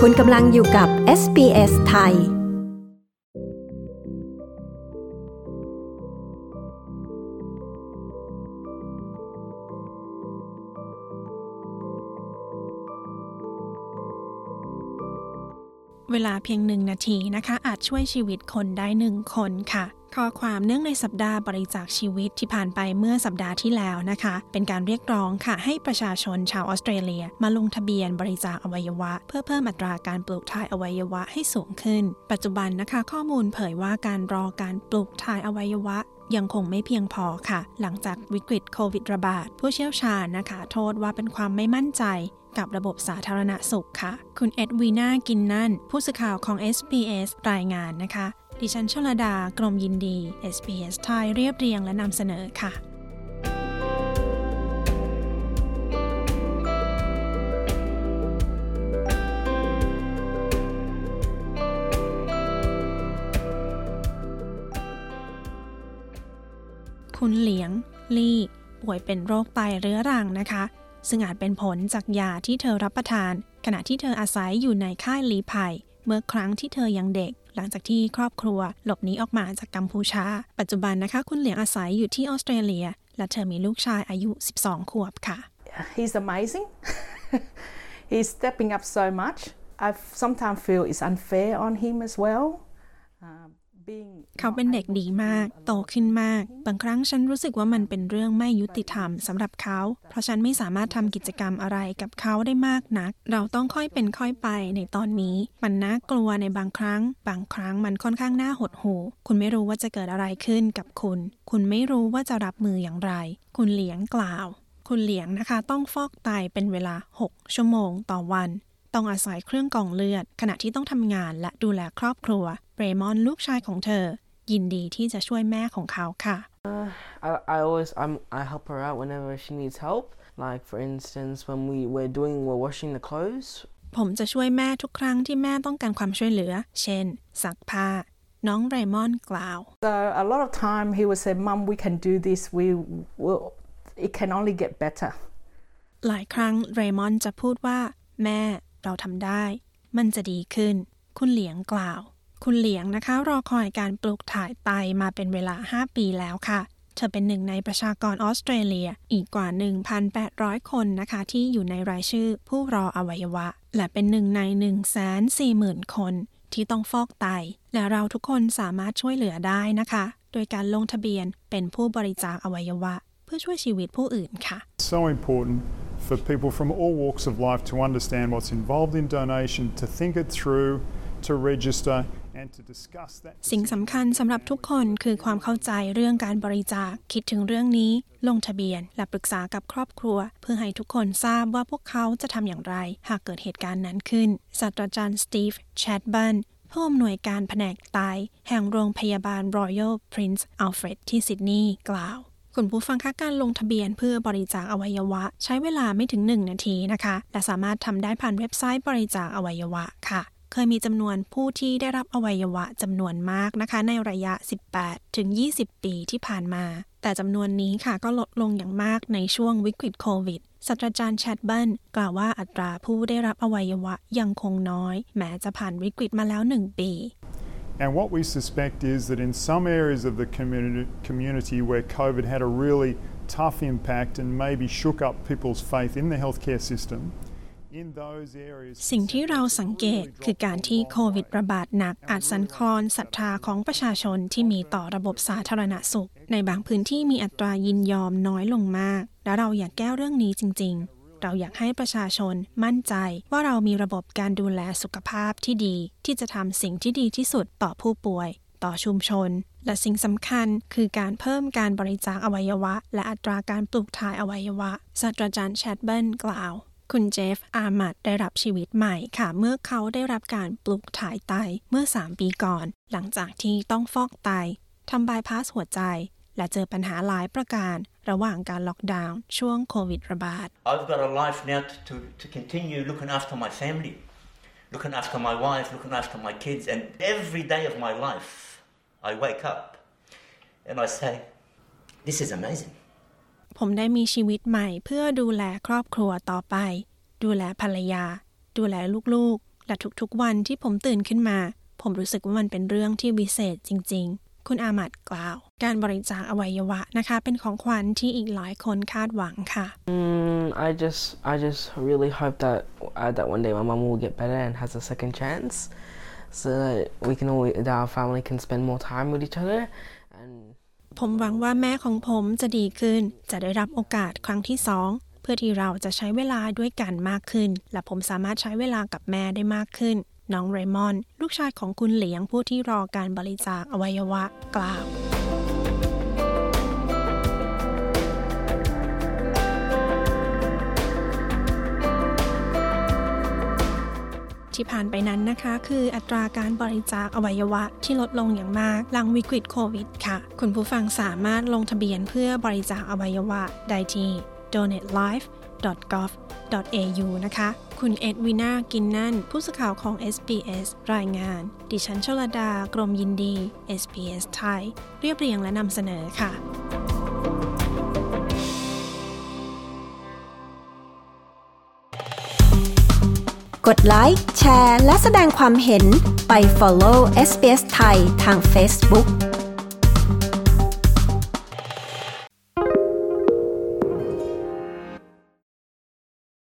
คุณกำลังอยู่กับ SBS ไทยเวลาเพียง1 นาทีนะคะอาจช่วยชีวิตคนได้1 คนค่ะข้อความเนื่องในสัปดาห์บริจาคชีวิตที่ผ่านไปเมื่อสัปดาห์ที่แล้วนะคะเป็นการเรียกร้องค่ะให้ประชาชนชาวออสเตรเลียมาลงทะเบียนบริจาคอวัยวะเพื่อเพิ่มอัตราการปลูกถ่ายอวัยวะให้สูงขึ้นปัจจุบันนะคะข้อมูลเผยว่าการรอการปลูกถ่ายอวัยวะยังคงไม่เพียงพอค่ะหลังจากวิกฤตโควิดระบาดผู้เชี่ยวชาญนะคะโทษว่าเป็นความไม่มั่นใจกับระบบสาธารณสุขค่ะคุณเอ็ดวีนากินนั่นผู้สื่อข่าวของ SBS รายงานนะคะดิฉันชลดากรมยินดี SBS ไทยเรียบเรียงและนำเสนอค่ะคุณเหลียงลี่ป่วยเป็นโรคไตเรื้อรังนะคะซึ่งอาจเป็นผลจากยาที่เธอรับประทานขณะที่เธออาศัยอยู่ในค่ายลี้ภัยเมื่อครั้งที่เธอยังเด็กหลังจากที่ครอบครัวหลบหนีออกมาจากกัมพูชาปัจจุบันนะคะคุณเหลียงอาศัยอยู่ที่ออสเตรเลียและเธอมีลูกชายอายุ12 ขวบค่ะ He's amazing. He's stepping up so much. I sometimes feel it's unfair on him as well. เขาเป็นเด็กดีมากโตขึ้นมากบางครั้งฉันรู้สึกว่ามันเป็นเรื่องไม่ยุติธรรมสำหรับเขาเพราะฉันไม่สามารถทำกิจกรรมอะไรกับเขาได้มากนักเราต้องค่อยเป็นค่อยไปในตอนนี้มันน่ากลัวในบางครั้งมันค่อนข้างน่าหดหู่คุณไม่รู้ว่าจะเกิดอะไรขึ้นกับคุณไม่รู้ว่าจะรับมืออย่างไรคุณเหลียงกล่าวคุณเหลียงนะคะต้องฟอกไตเป็นเวลา6 ชั่วโมงต่อวันต้องอาศัยเครื่องกรองเลือดขณะที่ต้องทำงานและดูแลครอบครัวเรมอนลูกชายของเธอยินดีที่จะช่วยแม่ของเขาค่ะ I help her out whenever she needs help. Like for instance, when we're washing the clothes. ผมจะช่วยแม่ทุกครั้งที่แม่ต้องการความช่วยเหลือเช่นซักผ้าน้องเรมอนกล่าว So a lot of time he would say, "Mum, we can do this. It can only get better." หลายครั้งเรมอนจะพูดว่าแม่เราทำได้มันจะดีขึ้นคุณเหลียงกล่าวคุณเหลียงนะคะรอคอยการปลูกถ่ายไตมาเป็นเวลา5 ปีแล้วค่ะเธอเป็นหนึ่งในประชากรออสเตรเลียอีกกว่า 1,800 คนนะคะที่อยู่ในรายชื่อผู้รออวัยวะและเป็นหนึ่งใน 140,000 คนที่ต้องฟอกไตและเราทุกคนสามารถช่วยเหลือได้นะคะโดยการลงทะเบียนเป็นผู้บริจาคอวัยวะเพื่อช่วยชีวิตผู้อื่นค่ะ So important for people from all walks of life to understand what's involved in donation, to think it through, to register and to discuss that. สิ่งสำคัญสำหรับทุกคนคือความเข้าใจเรื่องการบริจาคคิดถึงเรื่องนี้ลงทะเบียนและปรึกษากับครอบครัวเพื่อให้ทุกคนทราบว่าพวกเขาจะทำอย่างไรหากเกิดเหตุการณ์นั้นขึ้นศาสตราจารย์สตีฟแชดบันผู้อำนวยการแผนกไตแห่งโรงพยาบาล Royal Prince Alfred ที่ซิดนีย์กล่าวคุณผู้ฟังคะการลงทะเบียนเพื่อบริจาคอวัยวะใช้เวลาไม่ถึง1 นาทีนะคะและสามารถทำได้ผ่านเว็บไซต์บริจาคอวัยวะค่ะเคยมีจำนวนผู้ที่ได้รับอวัยวะจำนวนมากนะคะในระยะ 18-20 ปีที่ผ่านมาแต่จำนวนนี้ค่ะก็ลดลงอย่างมากในช่วงวิกฤตโควิดศาสตราจารย์แชดเบิลกล่าวว่าอัตราผู้ได้รับอวัยวะยังคงน้อยแม้จะผ่านวิกฤตมาแล้ว1 ปี And what we suspect is that in some areas of the community where COVID had a really tough impact and maybe shook up people's faith in the healthcare system, in those areas สิ่งที่เราสังเกตคือการที่โควิดระบาดหนักอาจสั่นคลอนศรัทธาของประชาชนที่มีต่อระบบสาธารณสุขในบางพื้นที่มีอัตรายินยอมน้อยลงมากและเราอยากแก้เรื่องนี้จริงๆเราอยากให้ประชาชนมั่นใจว่าเรามีระบบการดูแลสุขภาพที่ดีที่จะทำสิ่งที่ดีที่สุดต่อผู้ป่วยต่อชุมชนและสิ่งสำคัญคือการเพิ่มการบริจาคอวัยวะและอัตราการปลูกถ่ายอวัยวะศาสตราจารย์แชดเบิลกล่าวคุณเจฟอามัดได้รับชีวิตใหม่ค่ะเมื่อเขาได้รับการปลูกถ่ายไตเมื่อ3 ปีก่อนหลังจากที่ต้องฟอกไตทำบายพาสหัวใจและเจอปัญหาหลายประการระหว่างการล็อกดาวน์ช่วงโควิดระบาด I've got a life now to continue looking after my family, looking after my wife, looking after my kids, and every day of my life I wake up and I say, this is amazing. ผมได้มีชีวิตใหม่เพื่อดูแลครอบครัวต่อไปดูแลภรรยาดูแลลูกๆและทุกๆวันที่ผมตื่นขึ้นมาผมรู้สึกว่ามันเป็นเรื่องที่วิเศษจริงๆคุณอามัดกล่าวการบริจาคอวัยวะนะคะเป็นของขวัญที่อีกหลายคนคาดหวังค่ะ I just really hope that one day my mom will get better and has a second chance so that our family can spend more time with each other and ผมหวังว่าแม่ของผมจะดีขึ้นจะได้รับโอกาสครั้งที่2เพื่อที่เราจะใช้เวลาด้วยกันมากขึ้นและผมสามารถใช้เวลากับแม่ได้มากขึ้นน้องเรมอนลูกชายของคุณเหลียงผู้ที่รอการบริจาคอวัยวะกล่าวที่ผ่านไปนั้นนะคะคืออัตราการบริจาคอวัยวะที่ลดลงอย่างมากหลังวิกฤตโควิดค่ะคุณผู้ฟังสามารถลงทะเบียนเพื่อบริจาคอวัยวะได้ที่ donatelife.gov.au นะคะคุณเอ็ดวินากินนั่นผู้สื่อข่าวของ SBS รายงานดิฉันชลดากรมยินดี SBS ไทยเรียบเรียงและนำเสนอค่ะกดไลค์แชร์และแสดงความเห็นไป follow SBS ไทยทาง Facebook